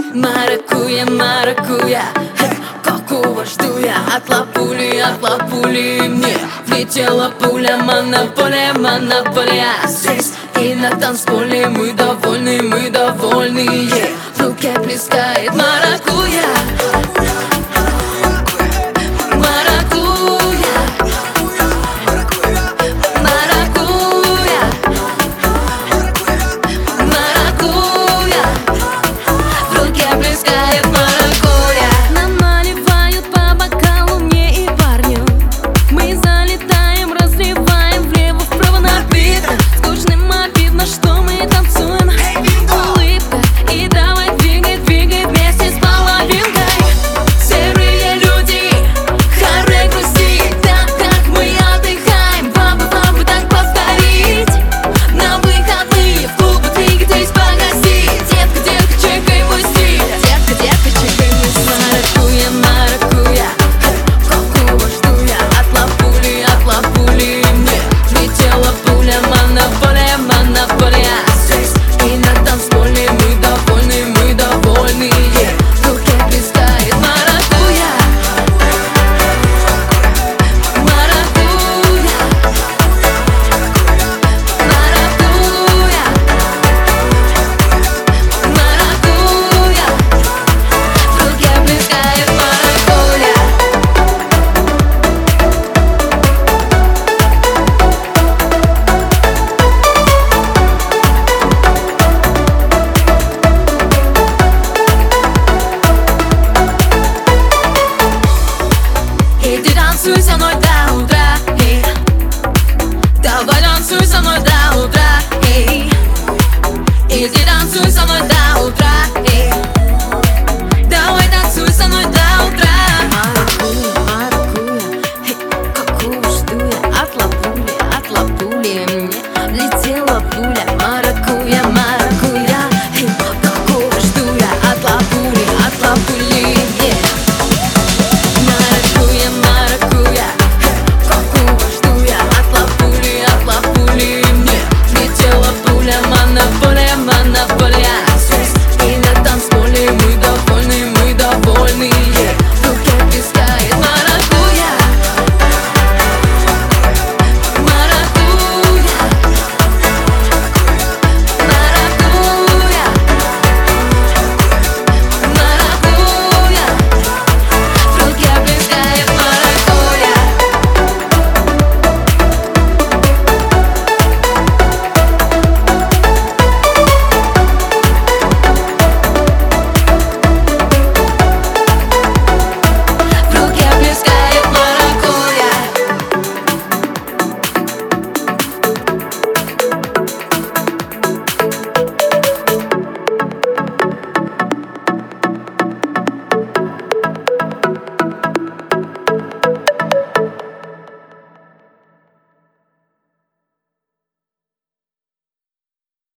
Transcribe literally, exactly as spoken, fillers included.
Маракуя, маракуя, какого жду я? От лапули, от лапули мне влетела пуля. Монополия, монополия. Здесь и на танцполе мы довольны, мы довольны. В руке плескает маракуя. Танцуй со мной до утра, эй. Давай танцуй со мной до утра, эй. Иди танцуй со мной до